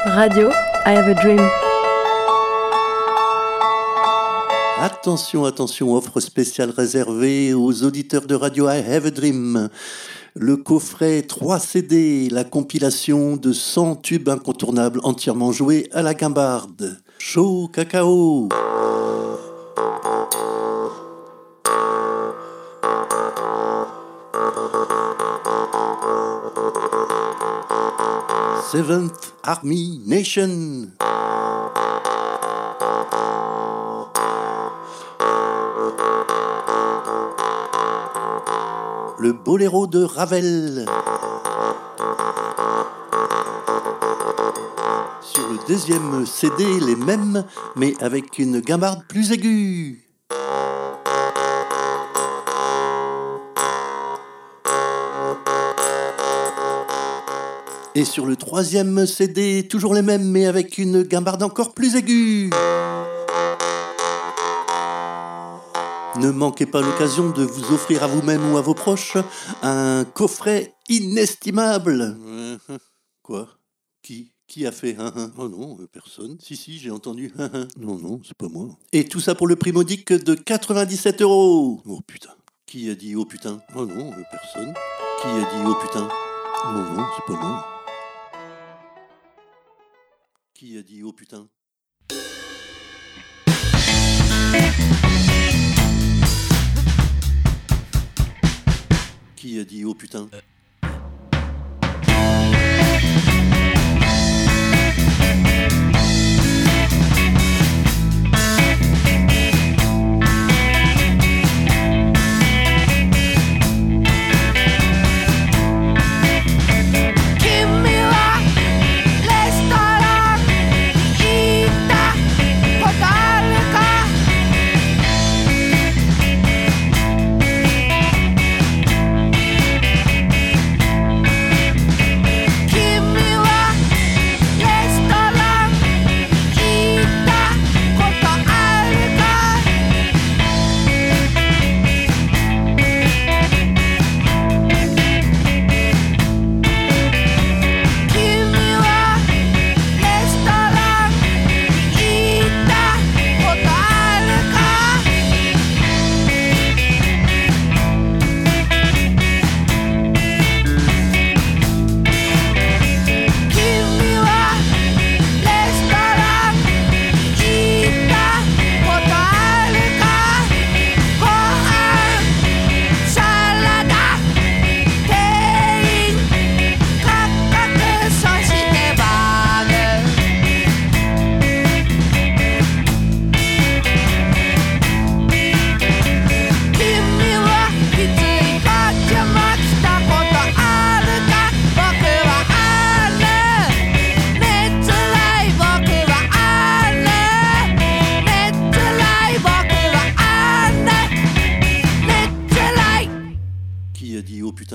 Radio, I have a dream. Attention, attention, offre spéciale réservée aux auditeurs de Radio I have a dream. Le coffret 3 CD, la compilation de 100 tubes incontournables entièrement joués à la guimbarde. Chaud cacao. Seventh Army Nation. Le boléro de Ravel. Sur le deuxième CD, les mêmes, mais avec une guimbarde plus aiguë. Et sur le troisième CD, toujours les mêmes, mais avec une guimbarde encore plus aiguë. Ne manquez pas l'occasion de vous offrir à vous-même ou à vos proches un coffret inestimable. Quoi ? Qui a fait ? Oh non, personne. Si, j'ai entendu. Non, c'est pas moi. Et tout ça pour le prix modique de 97 €. Oh putain. Qui a dit oh putain ? Oh non, personne. Qui a dit oh putain ? Non, c'est pas moi. Qui a dit oh putain ? Qui a dit oh putain ? Qui a dit oh putain ?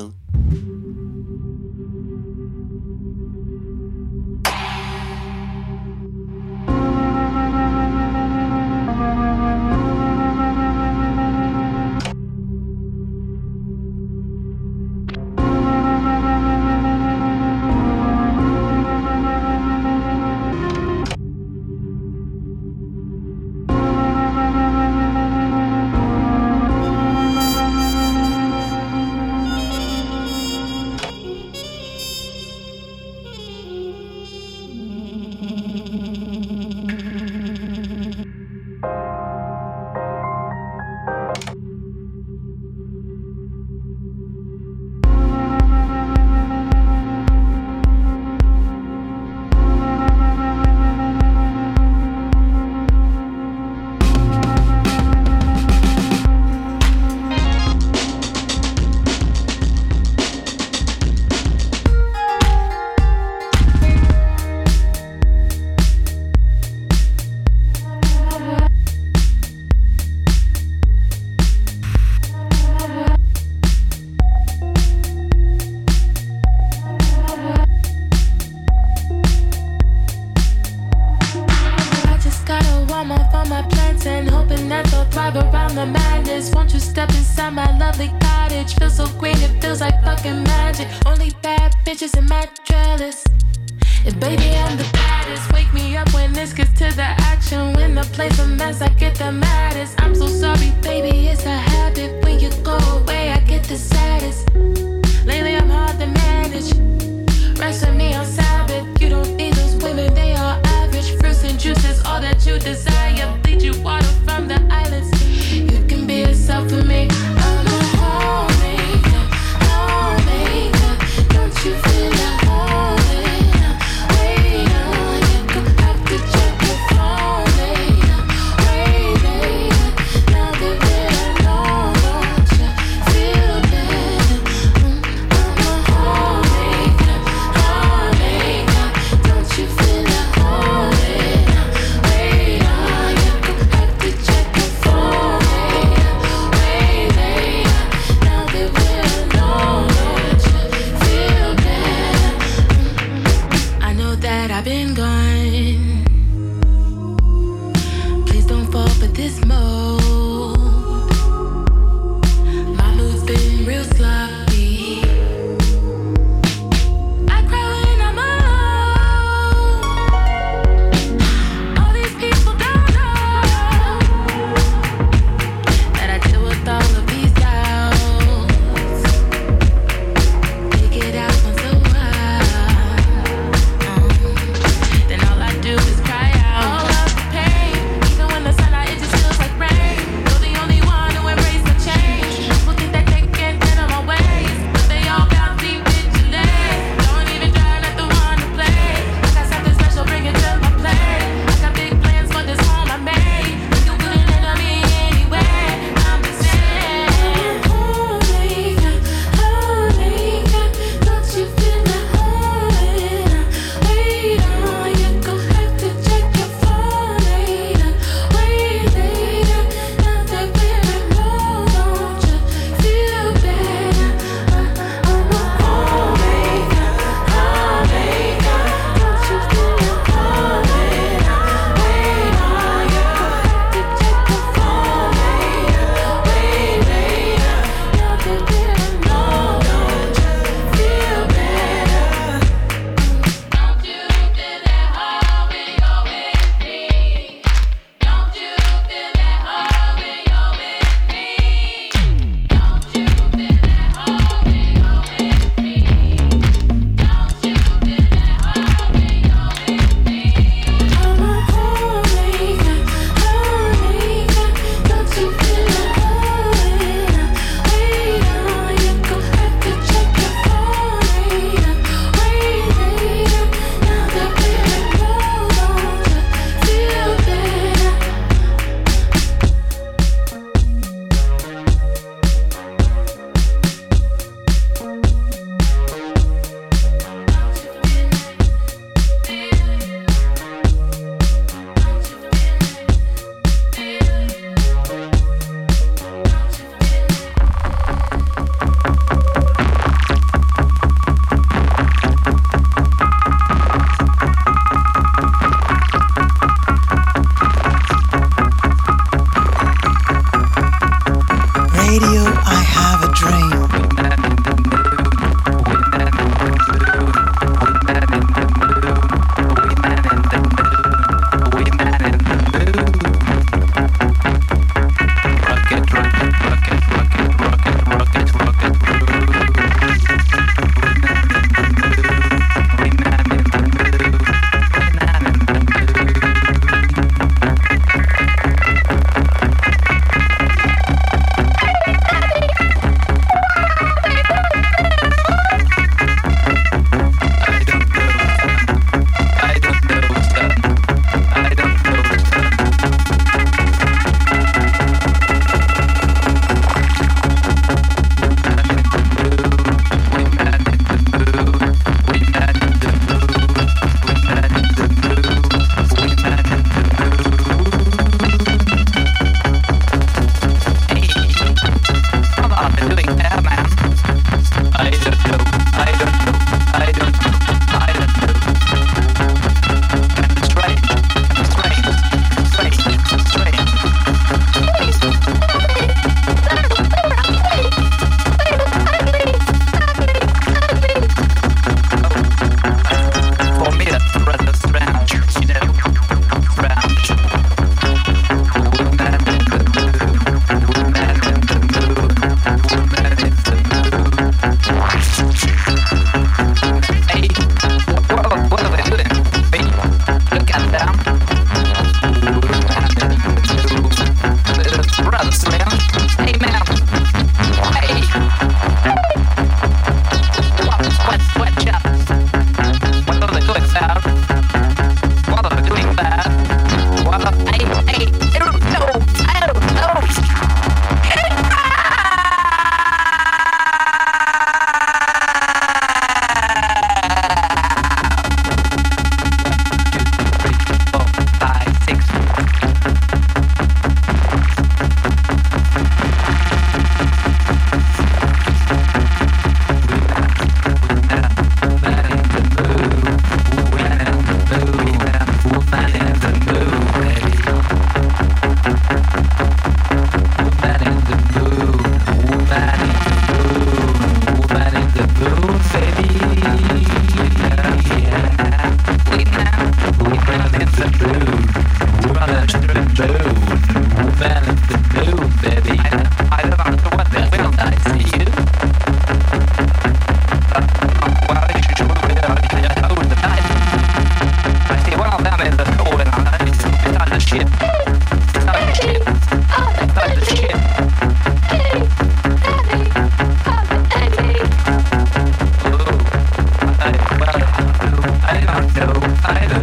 Only bad bitches in my trellis. And baby, I'm the baddest. baddest. Wake me up when this gets to the action. When the play's a mess, I get the maddest. I'm so sorry, baby, it's a habit. When you go away, I get the saddest. Lately I'm hard to manage. Rest with me on Sabbath. You don't need those women, they are average. Fruits and juices, all that you desire. Bleed you water from the islands. You can be yourself with me. I'm a homemaker, homemaker. Don't you feel at home? Wait on, you could have to check your phone later. Wait later, now that we're alone, don't you feel better? I'm a homemaker, homemaker. Don't you feel at home? Wait on, you could have to check your phone later. Wait later, now that we're alone, don't you feel better? I know that I've been gone. Please don't fall for this mode. My mood's been real sloppy. I cry when I'm alone. All these people don't know that I deal with all of these doubts. Take it out once a while. Then all I do is cry out. All of the pain, even when the sun out, it just feels like rain.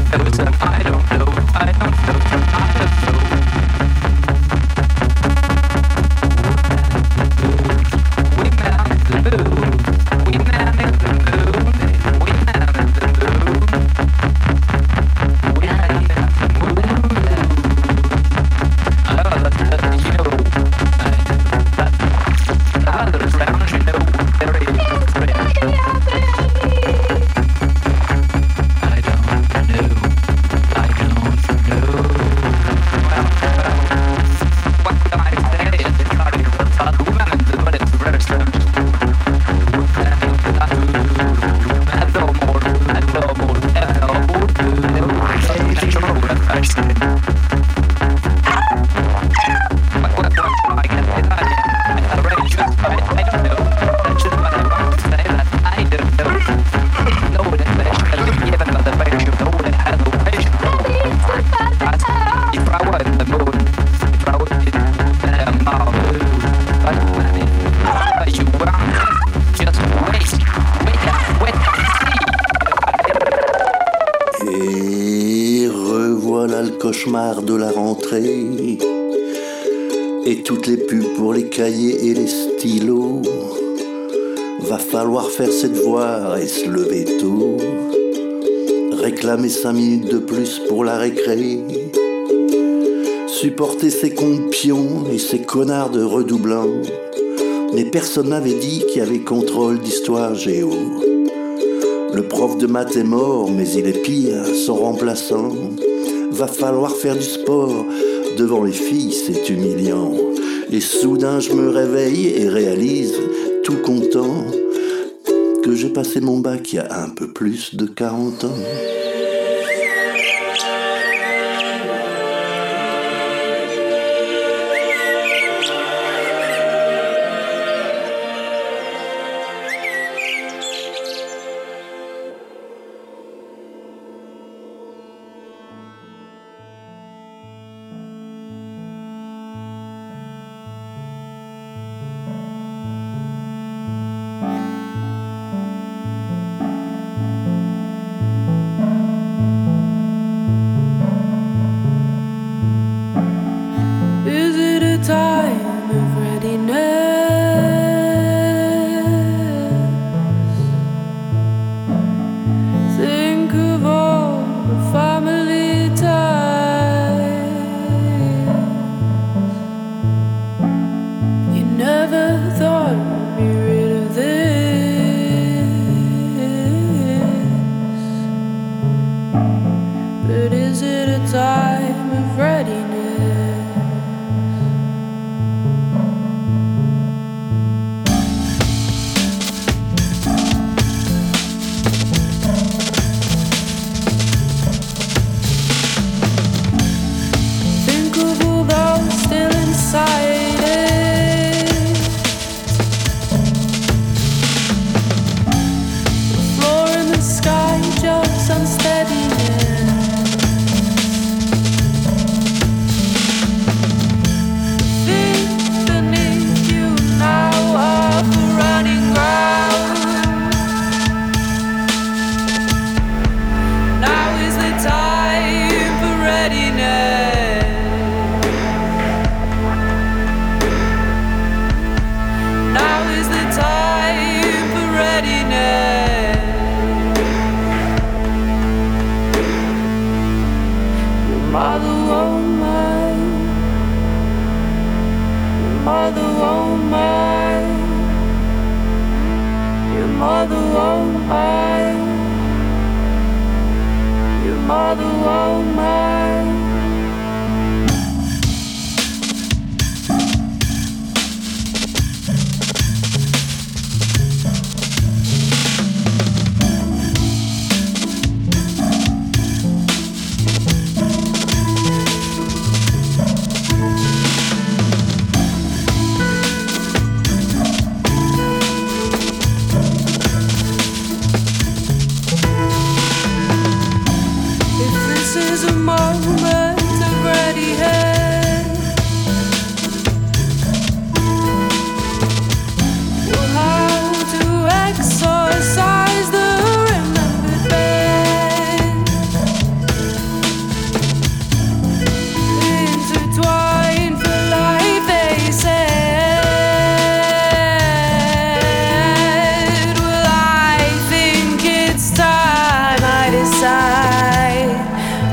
De la rentrée et toutes les pubs pour les cahiers et les stylos. Va falloir faire ses devoirs et se lever tôt, réclamer 5 minutes de plus pour la récré, supporter ses compions et ses connards de redoublants. Mais personne n'avait dit qu'il y avait contrôle d'histoire géo. Le prof de maths est mort, mais il est pire, son remplaçant. Va falloir faire du sport, devant les filles c'est humiliant. Et soudain je me réveille et réalise, tout content, que j'ai passé mon bac il y a un peu plus de 40 ans.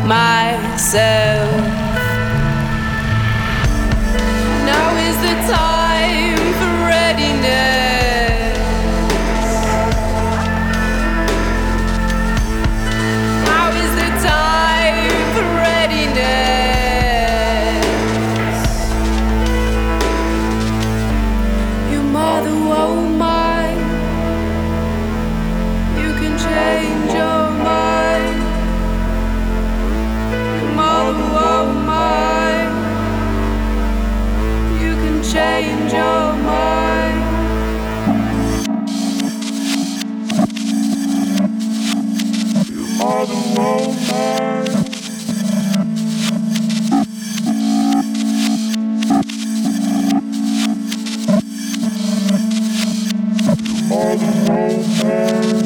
myself. Now is the time for readiness. Now is the time for readiness. Your mother won't mind. You can change your mind. Your mother won't mind. You can change your mind. Your mother won't mind. Your mother won't mind.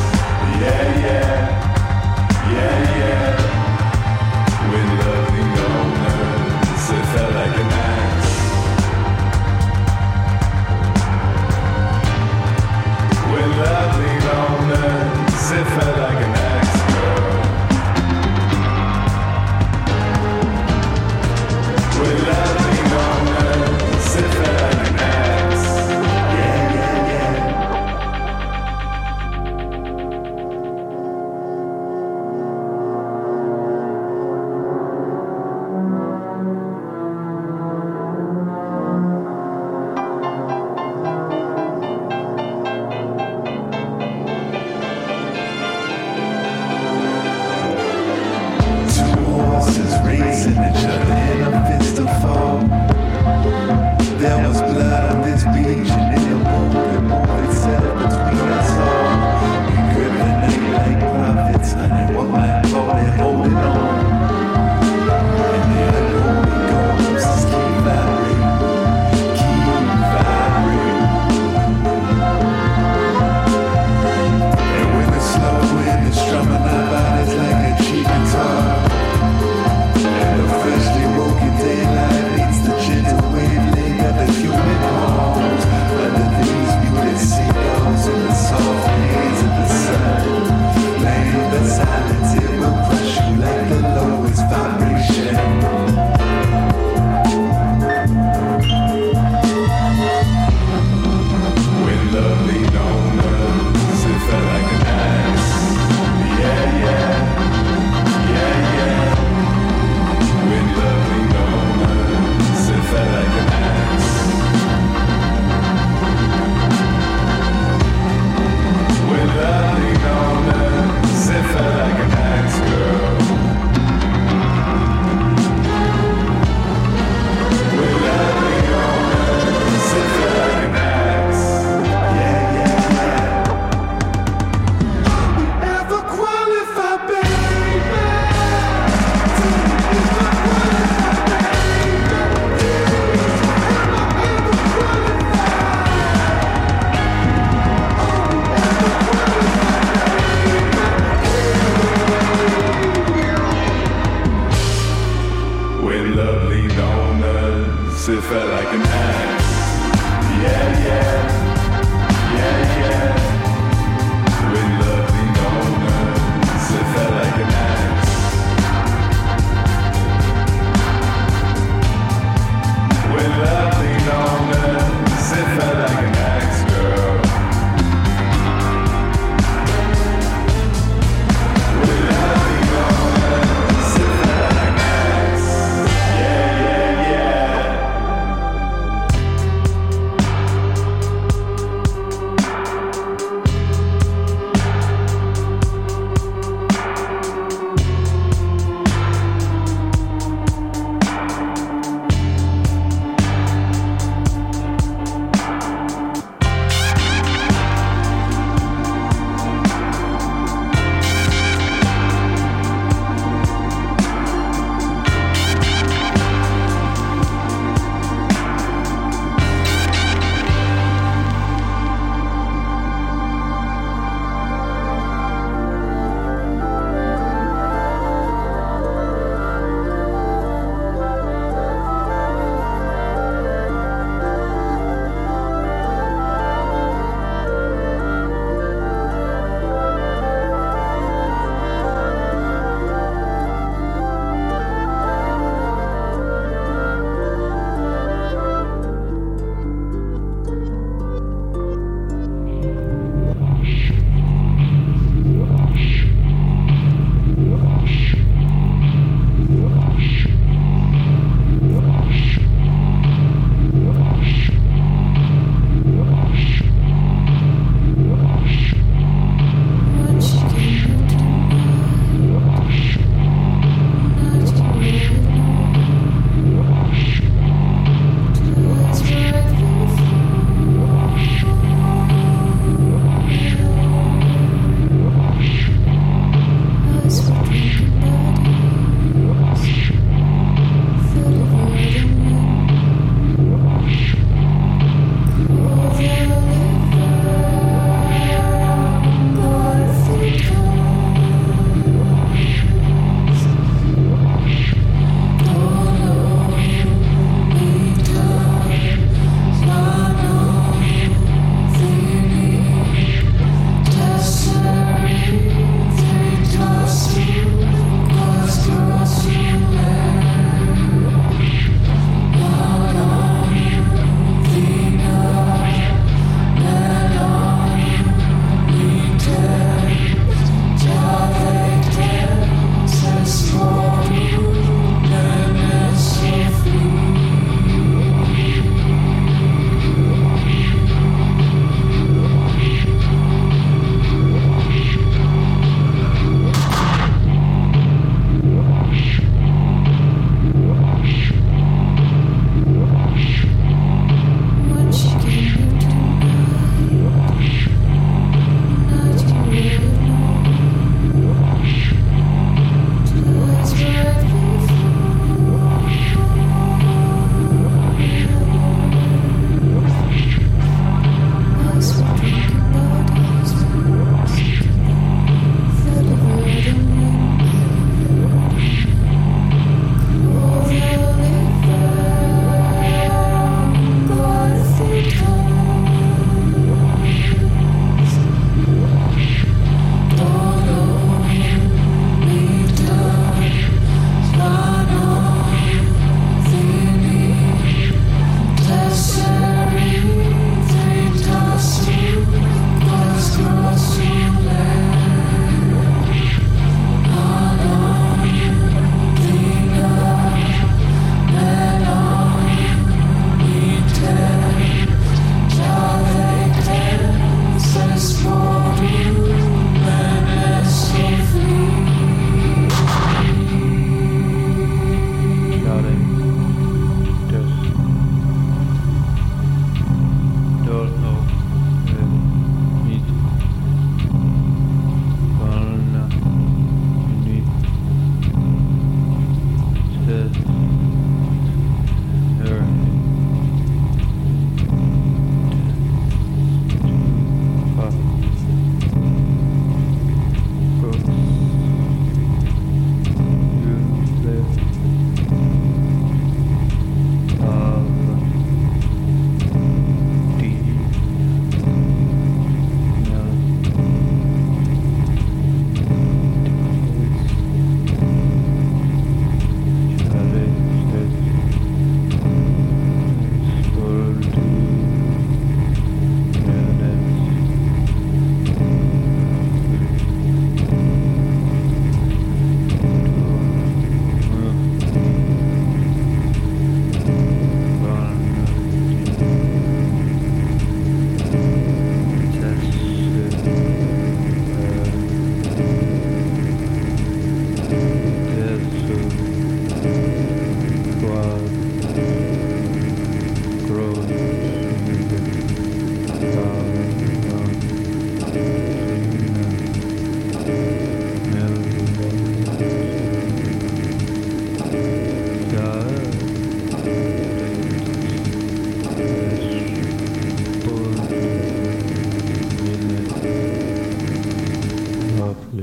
When love leaned on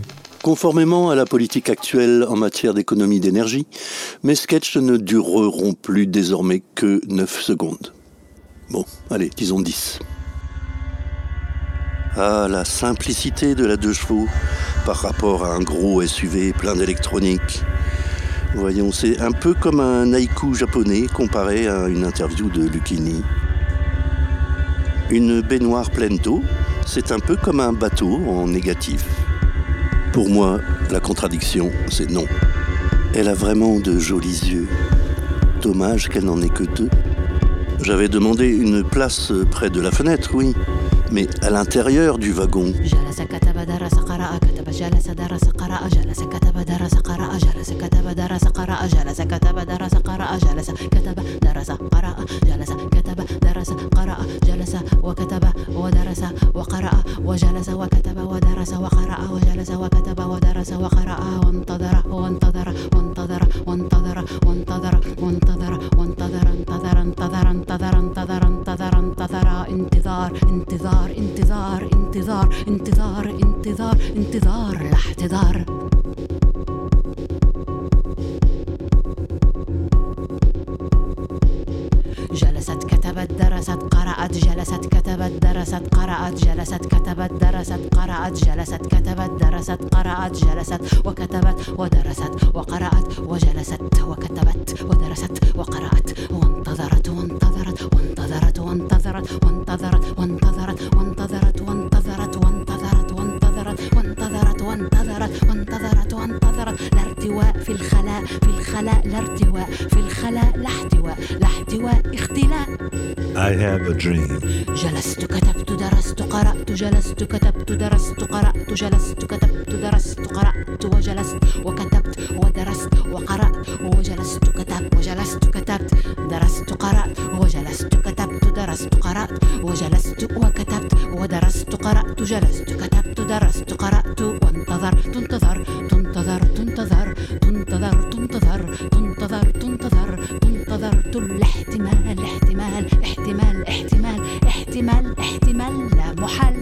Conformément à la politique actuelle en matière d'économie d'énergie, mes sketchs ne dureront plus désormais que 9 secondes. Bon, allez, disons 10. Ah, la simplicité de la 2 chevaux par rapport à un gros SUV plein d'électronique. Voyons, c'est un peu comme un haïku japonais comparé à une interview de Lucchini. Une baignoire pleine d'eau, c'est un peu comme un bateau en négatif. Pour moi, la contradiction, c'est non. Elle a vraiment de jolis yeux. Dommage qu'elle n'en ait que 2. J'avais demandé une place près de la fenêtre, oui, mais à l'intérieur du wagon. انتظار لا احتضار. جلست كتبت درست قرأت جلست كتبت درست قرأت جلست كتبت درست قرأت جلست كتبت درست قرأت جلست وكتبت ودرست وقرأت وجلست وكتبت ودرست وقرأت وانتظرت وانتظرت وانتظرت وانتظرت وانتظرت وانتظرت وانتظرت وانتظرت وانتظرت وانتظرت وانتظرت وانتظرت وانتظرت وانتظرت لا ارتواء في الخلاء في الخلاء لا ارتواء في الخلاء لا احتواء لا احتواء اختلاء. I have a dream. جلست كتبت درست قرأت جلست كتبت درست قرأت جلست كتبت درست قرأت وجلست وكتبت ودرست وقرأت وجلست كتبت وجلست كتبت درست قرأت وجلست كتبت درست قرأت وجلست وكتبت ودرست قرأت جلست كتبت درست قرأت وانتظر تنتظر تنتظر تنتظر تنتظر تنتظر تنتظر تنتظر تنتظرت الاحتمال احتمال احتمال احتمال احتمال احتمال لا محل.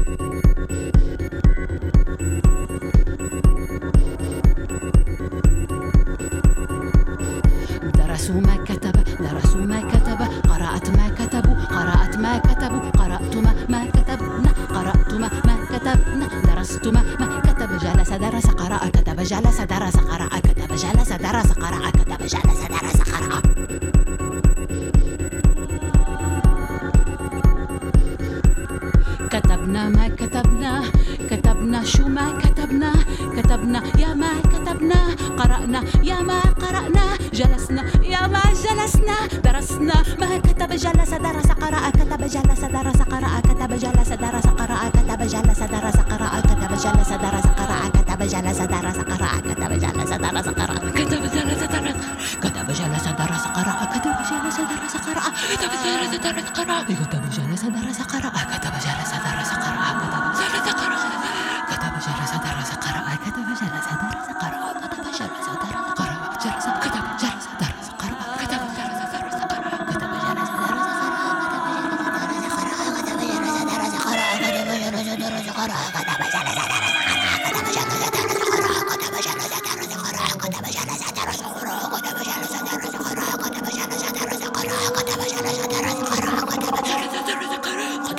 درسوا ما كتب درسوا ما كتب قرأت ما كتبوا قرأت ما كتبوا قرأت ما كتبنا قرأت ما كتبنا درست ما كتب جلس درس قرأ كتب جلس درس قرأ كتب جلس درس قرأ كتب جلس درس قرأ. كتبنا ما كتبنا كتبنا شو ما كتبنا كتبنا يا ما كتبنا قرأنا يا ما قرأنا جلسنا يا ما جلسنا درسنا ما كتب جلس درس قرأ كتب جلس درس قرأ كتب جلس درس قرأ كتب جلس درس قرأ كتب جلس درس قرأ كتب جلس درس قرأ كتب جلس درس قرأ كتب جلس درس كتب جلس درس قرأ كتب جلس درس قرأ كتب جلس درس قرأ كتب جلس درس قرأ كتب جلس درس قرأ كتب جلس درس قرأ كتب جلس درس قرأ كتب جلس درس قرأ جلس كتب جلس درس قرأ كتب جلس درس قرأ كتب جلس درس قرأ كتب جلس درس قرأ كتب جلس درس قرأ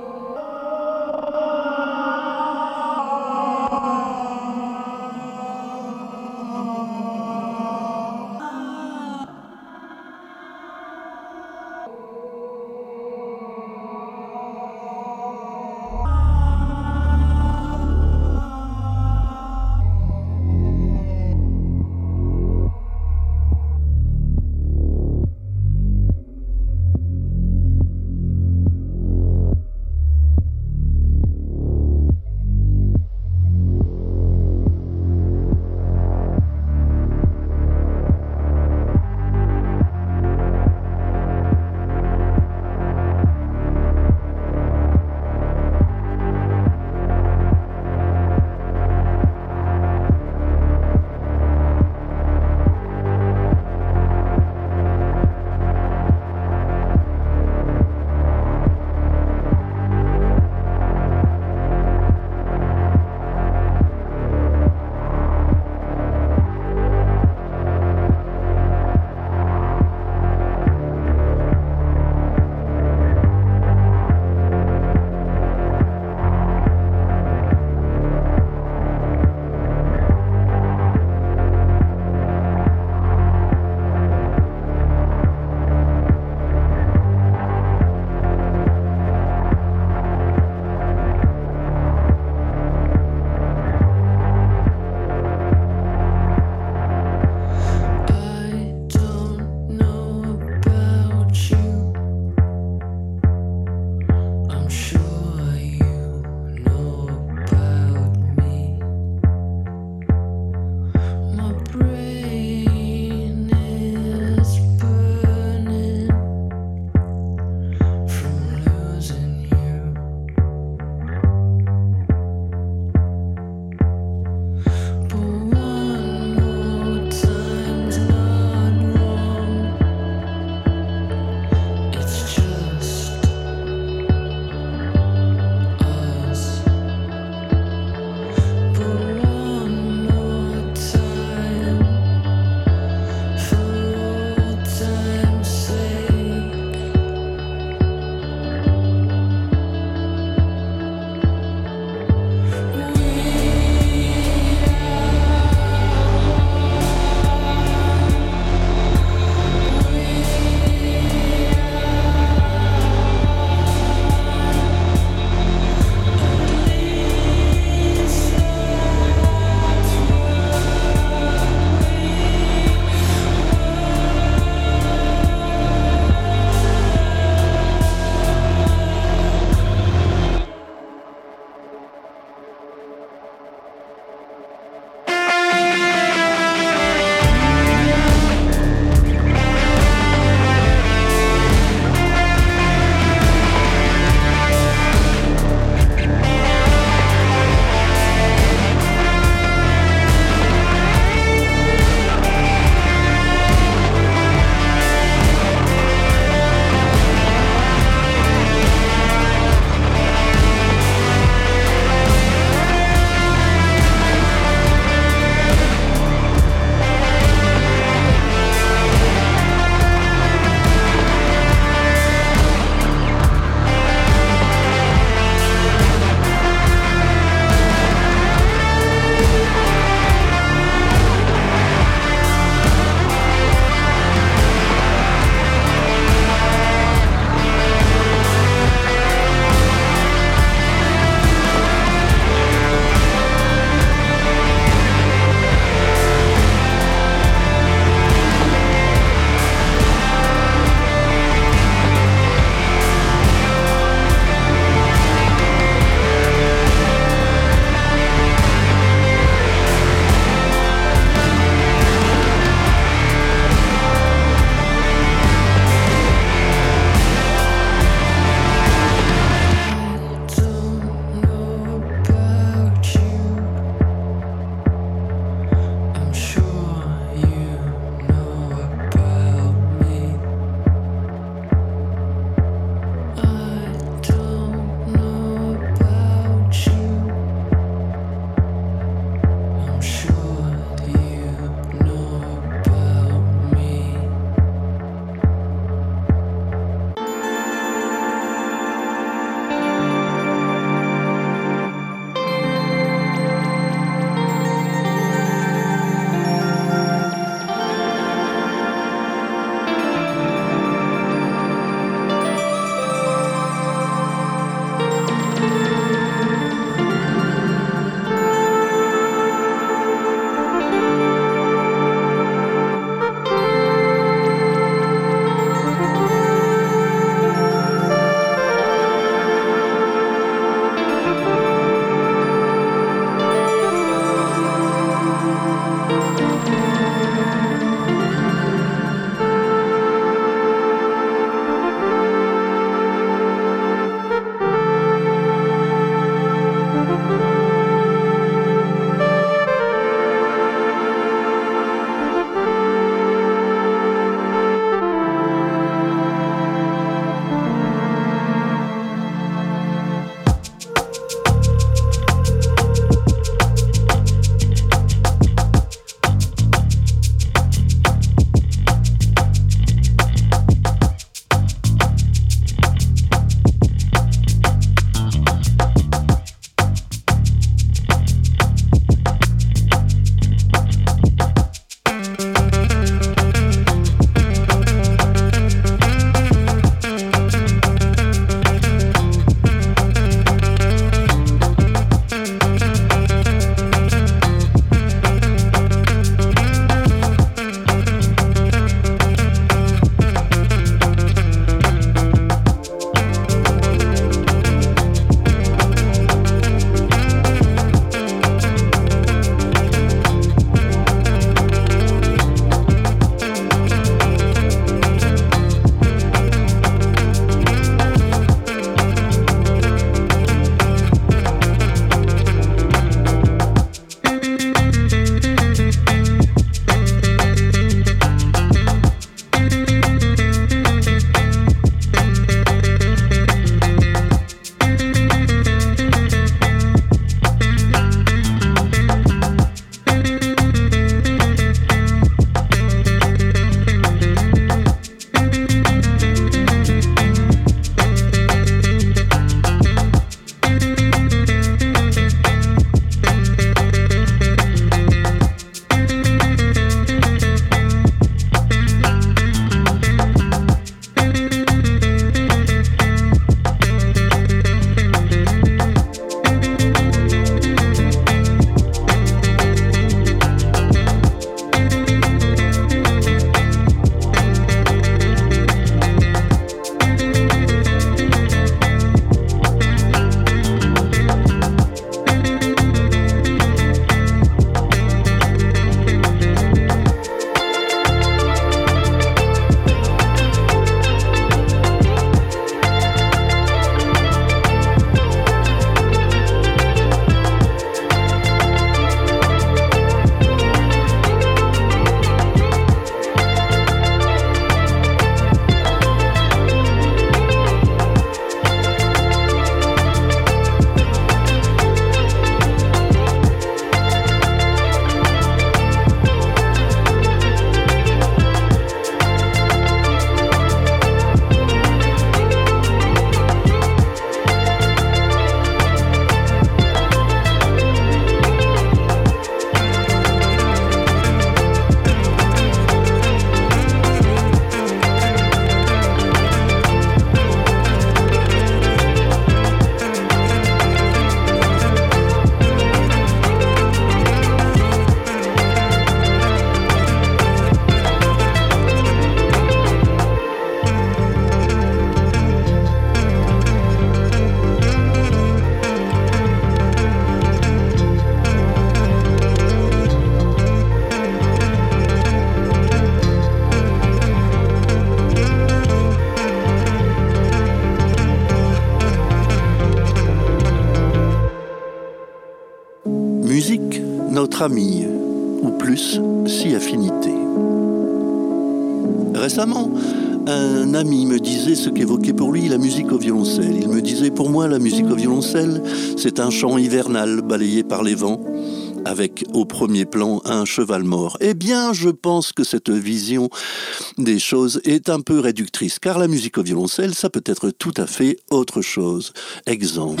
musique, notre amie, ou plus, si affinité. Récemment, un ami me disait ce qu'évoquait pour lui la musique au violoncelle. Il me disait, pour moi, la musique au violoncelle, c'est un chant hivernal balayé par les vents, avec au premier plan un cheval mort. Eh bien, je pense que cette vision des choses est un peu réductrice, car la musique au violoncelle, ça peut être tout à fait autre chose. Exemple.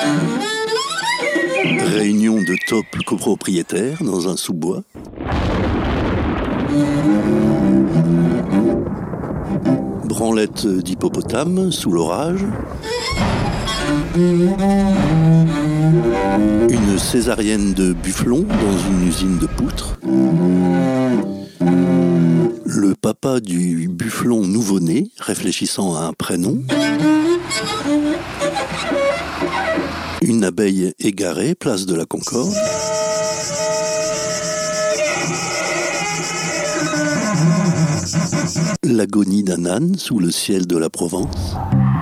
Réunion de top copropriétaires dans un sous-bois. Branlette d'hippopotame sous l'orage. Une césarienne de bufflon dans une usine de poutres. Le papa du bufflon nouveau-né réfléchissant à un prénom. Une abeille égarée, place de la Concorde. L'agonie d'un âne sous le ciel de la Provence.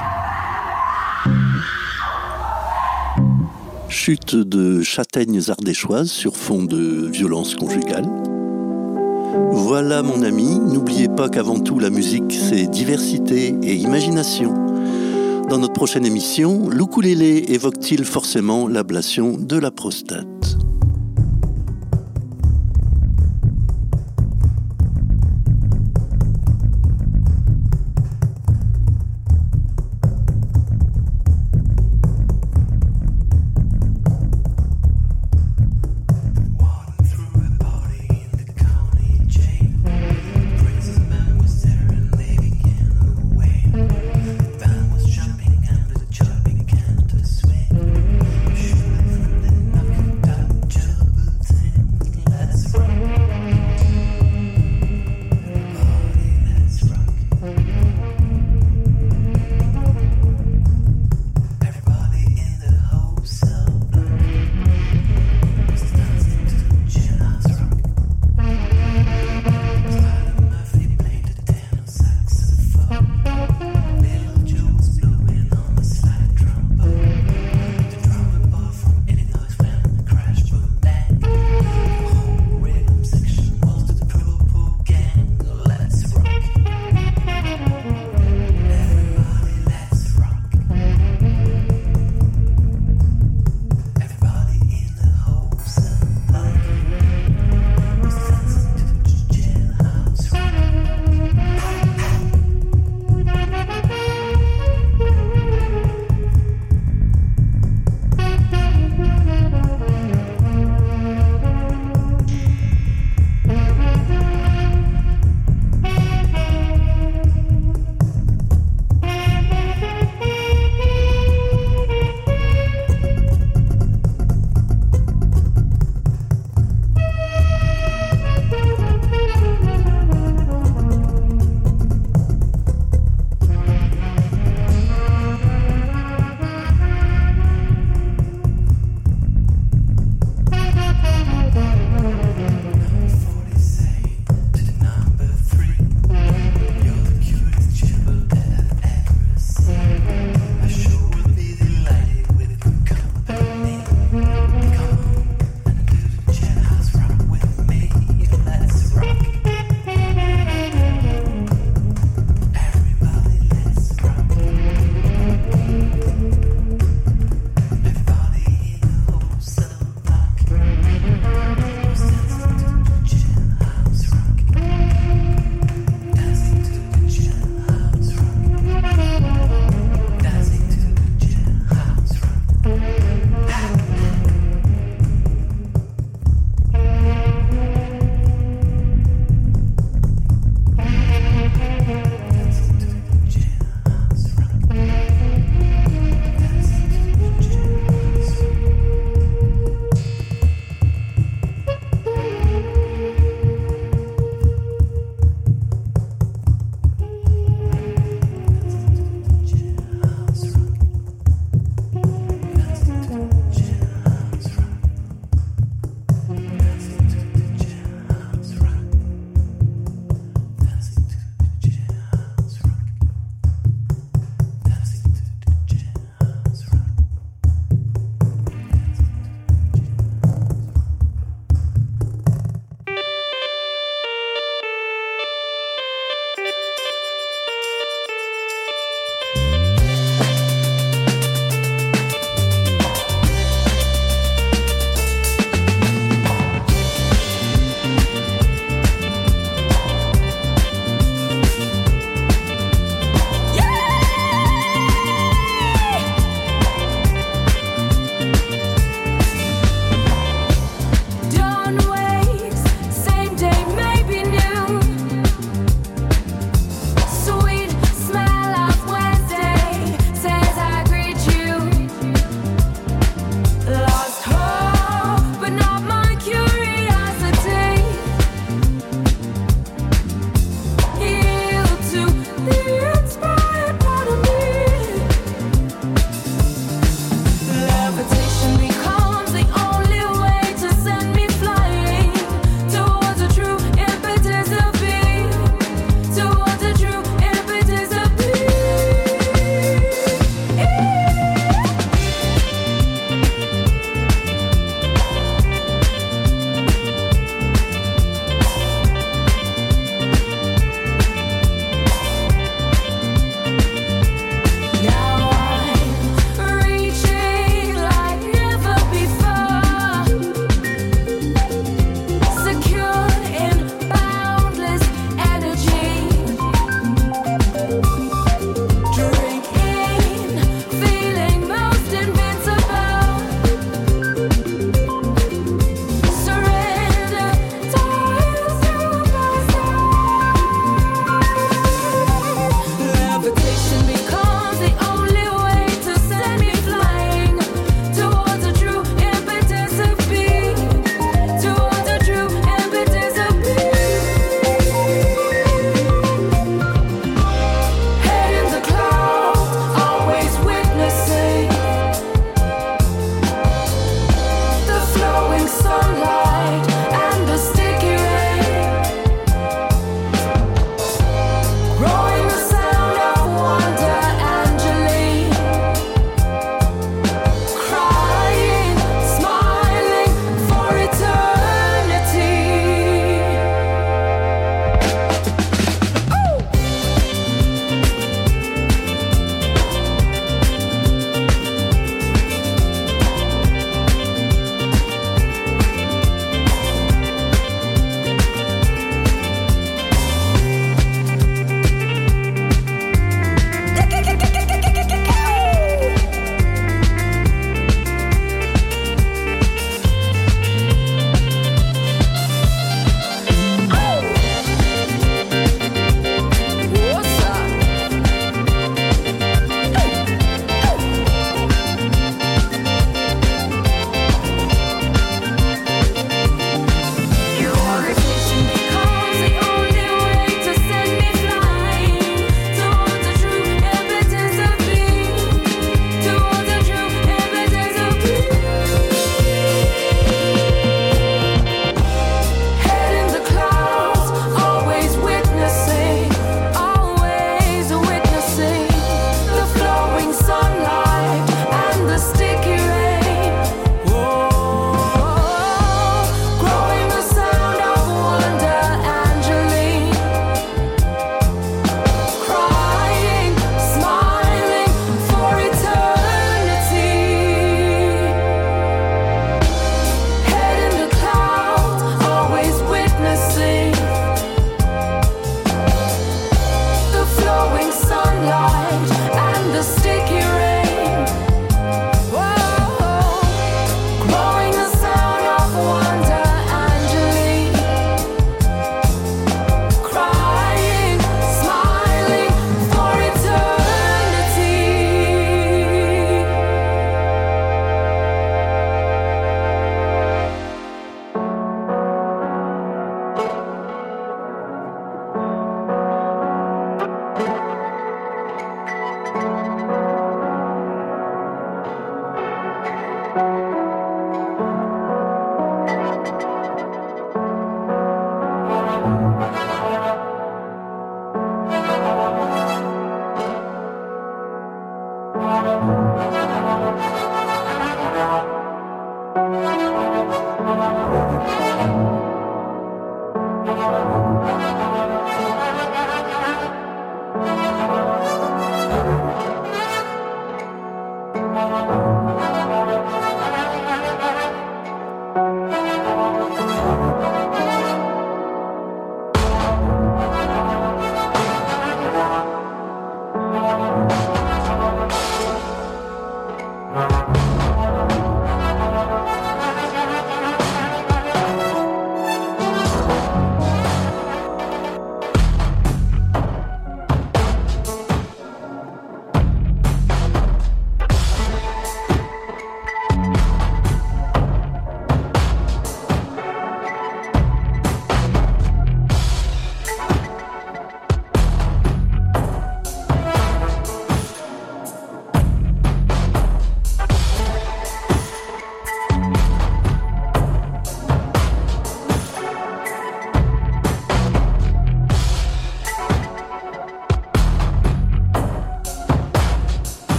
Chute de châtaignes ardéchoises sur fond de violence conjugale. Voilà mon ami, n'oubliez pas qu'avant tout la musique c'est diversité et imagination. Dans notre prochaine émission, l'ukulélé évoque-t-il forcément l'ablation de la prostate ?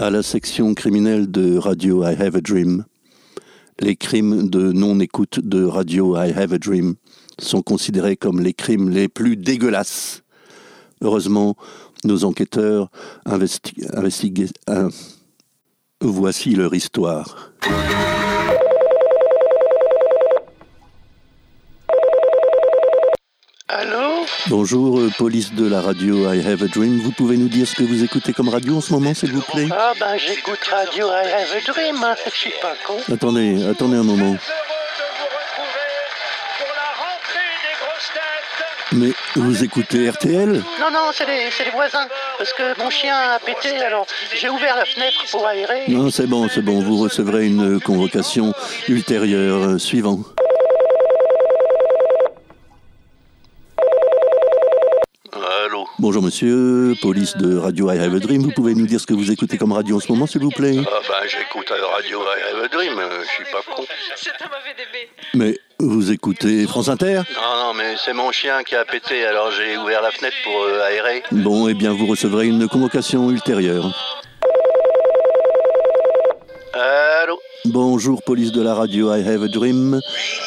À la section criminelle de Radio I Have a Dream, les crimes de non-écoute de Radio I Have a Dream sont considérés comme les crimes les plus dégueulasses. Heureusement, nos enquêteurs investiguent. Voici leur histoire. Allô? Bonjour, police de la radio I Have a Dream. Vous pouvez nous dire ce que vous écoutez comme radio en ce moment, s'il vous plaît? Ah ben j'écoute Radio I Have a Dream, hein. Je suis pas con. Attendez un moment. Mais vous écoutez RTL? Non, c'est les voisins. Parce que mon chien a pété, alors j'ai ouvert la fenêtre pour aérer. Non, c'est bon. Vous recevrez une convocation ultérieure. Suivant. Allô? Bonjour monsieur, police de Radio I Have a Dream. Vous pouvez nous dire ce que vous écoutez comme radio en ce moment, s'il vous plaît? Ah ben j'écoute Radio I Have a Dream, je suis pas con. C'est un mauvais DB. Mais vous écoutez France Inter? Non, mais c'est mon chien qui a pété, alors j'ai ouvert la fenêtre pour aérer. Bon, eh bien vous recevrez une convocation ultérieure. Allô? Bonjour, police de la radio I Have a Dream.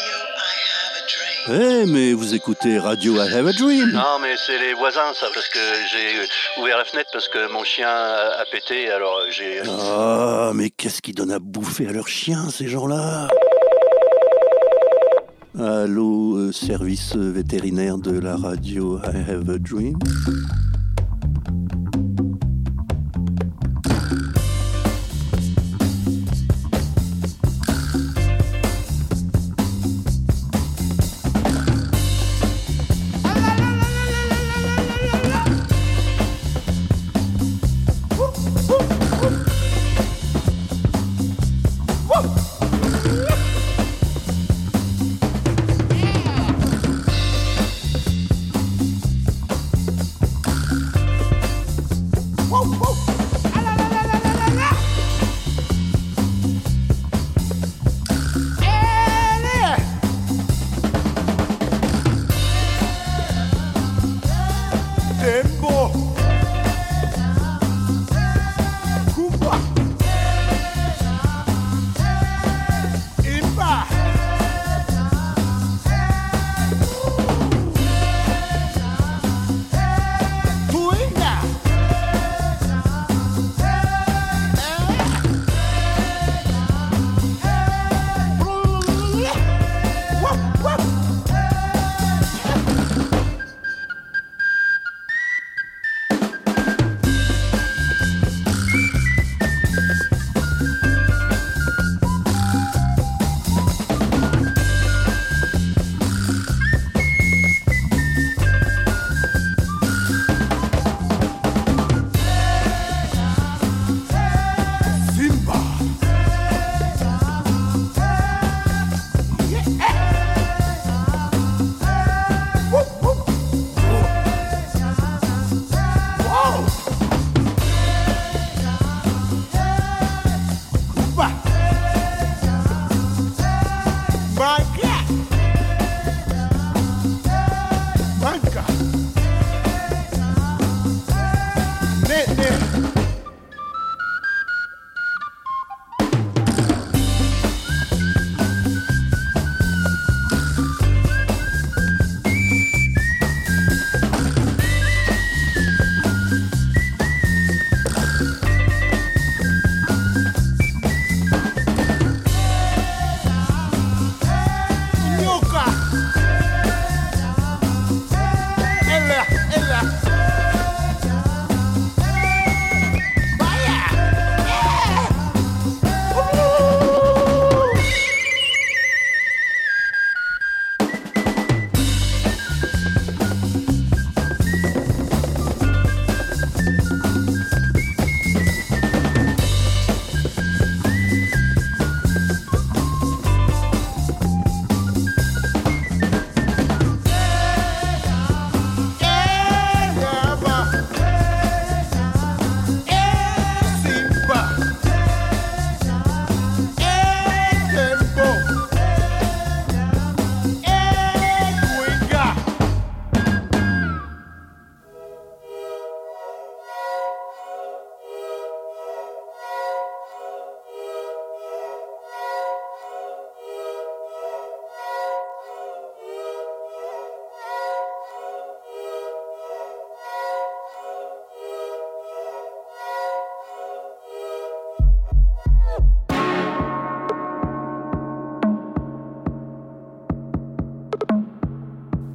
Eh, mais vous écoutez Radio I Have a Dream? Non, mais c'est les voisins, ça, parce que j'ai ouvert la fenêtre parce que mon chien a pété, alors j'ai... Ah, mais qu'est-ce qu'ils donnent à bouffer à leurs chiens, ces gens-là? Allô, service vétérinaire de la radio I Have a Dream?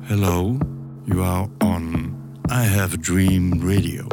Hello, you are on I Have a Dream Radio.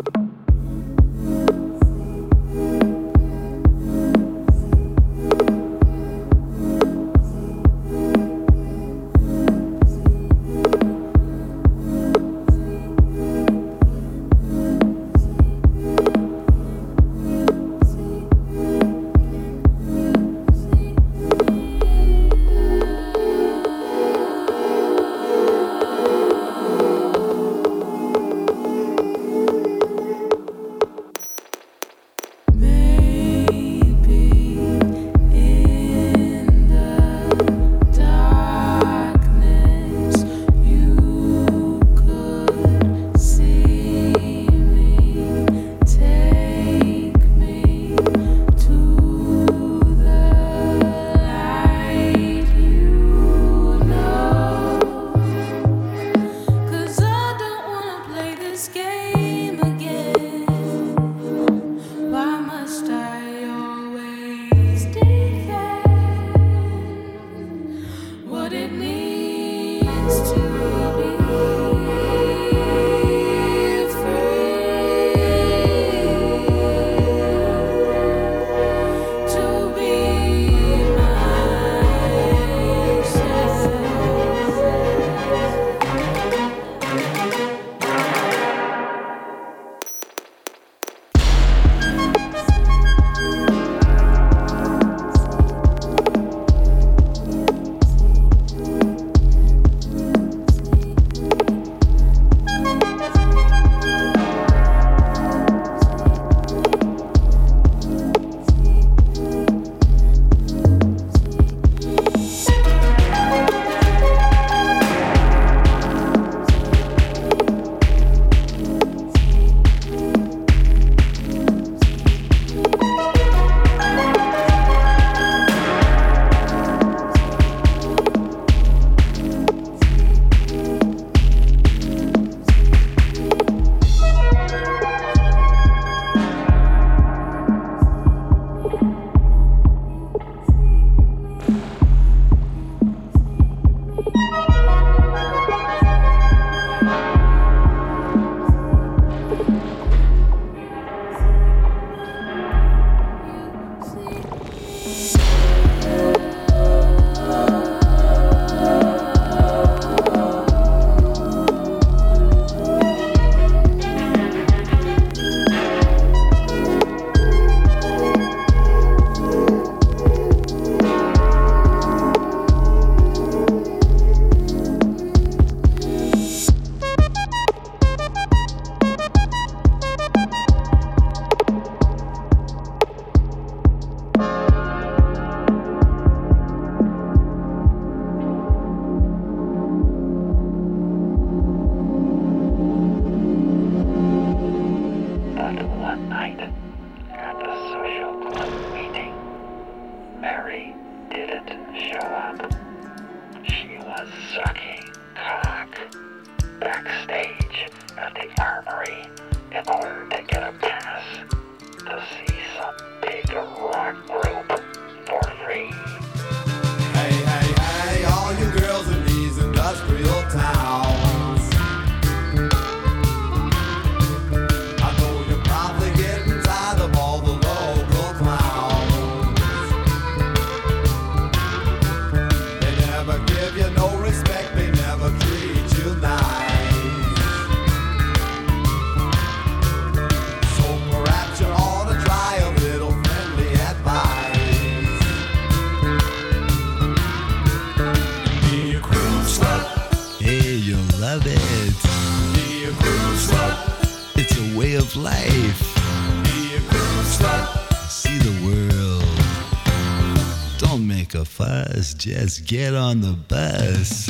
Just get on the bus.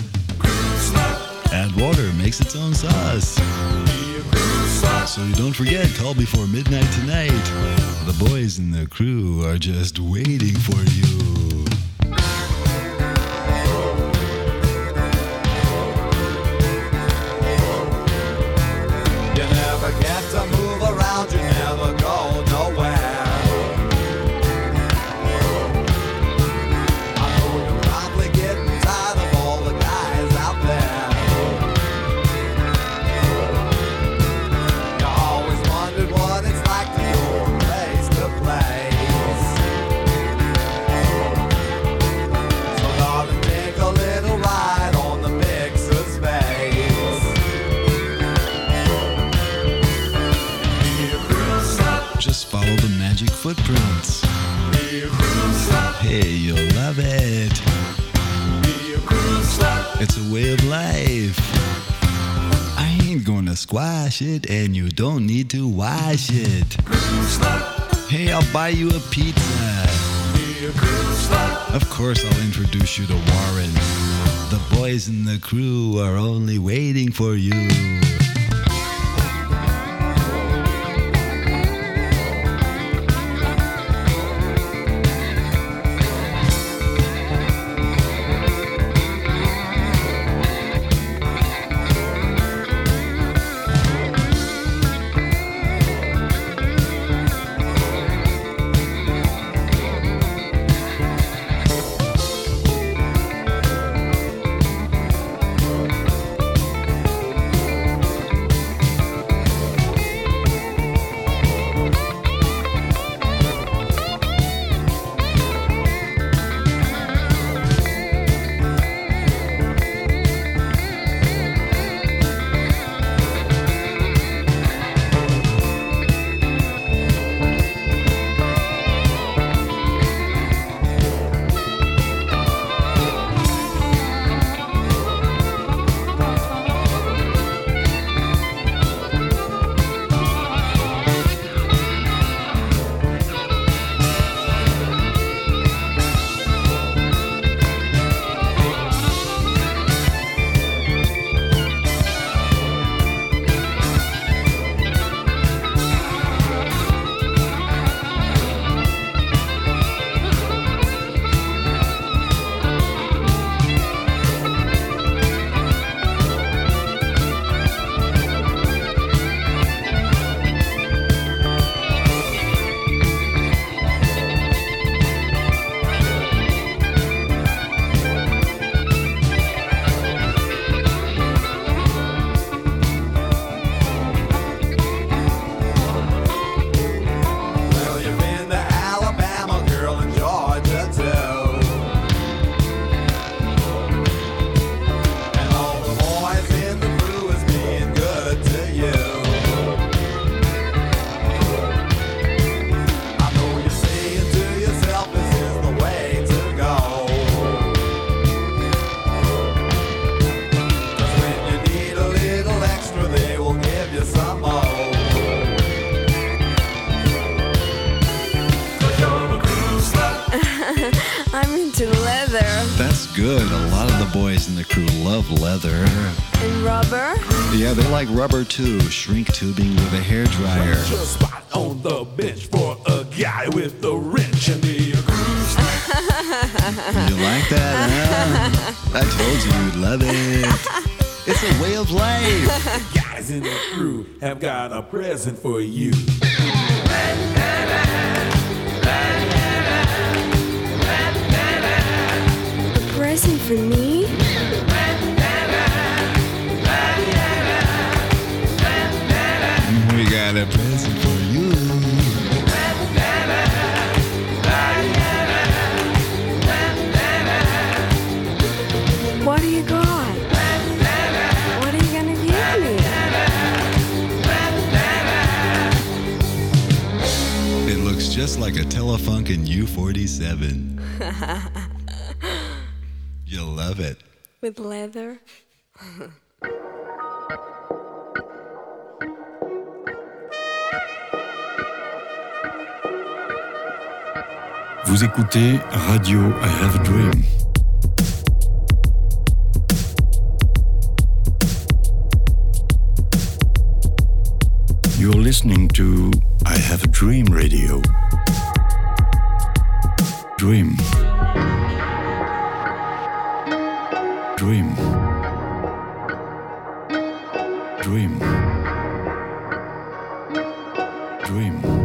Add water, makes its own sauce. So you don't forget, call before midnight tonight. The boys in the crew are just waiting for you. You never get to move around, you never go nowhere. I know you're probably getting tired of all the guys out there. Hey, you'll love it. It's a way of life. I ain't gonna squash it, and you don't need to wash it. Hey, I'll buy you a pizza. Of course, I'll introduce you to Warren. The boys in the crew are only waiting for you. Good. A lot of the boys in the crew love leather. And rubber? Yeah, they like rubber too. Shrink tubing with a hairdryer. Just spot on the bench for a guy with the wrench and the grooves. You like that, huh? I told you you'd love it. It's a way of life. Guys in the crew have got a present for you. Present for me? We got a present for you. What do you got? What are you gonna give me? It looks just like a Telefunken U-47. You'll love it. With leather? Vous écoutez Radio I Have a Dream. You're listening to I Have a Dream Radio. Dream. Dream. Dream. Dream.